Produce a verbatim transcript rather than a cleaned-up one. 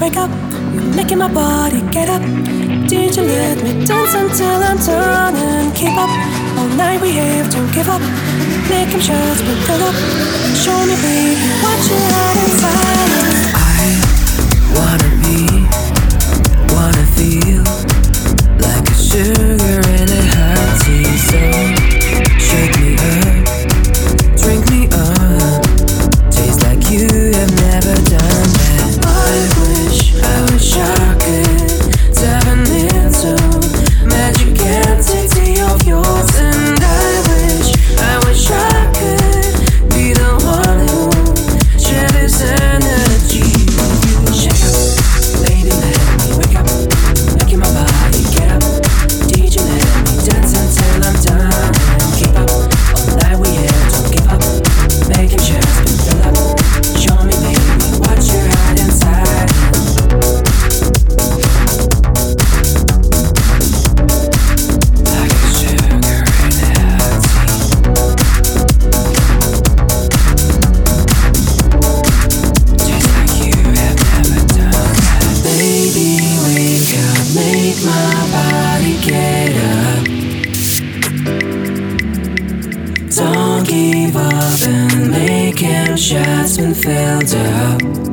wake up? You're making my body get up. Did you let me dance until I'm done and keep up? All night we have, don't give up. Make him shots, but fill up. Show me, baby, what you had inside. I wanna be, wanna feel like a sugar in a hot tea. So shake me up, drink me up, taste like you have never done that. I wish, I wish I could dive into magic entity of yours. And I wish, I wish I could be the one who share this energy. Shake up, lady, let me wake up, making my body get up. D J, let me dance until I'm done and keep up. All night we had, don't give up. Make him just be fill up. Show me, baby, what you had inside. Like a sugar in a hot tea. Just like you have never done that. Baby, wake up, make my body get up. Don't give up and make him just been filled up.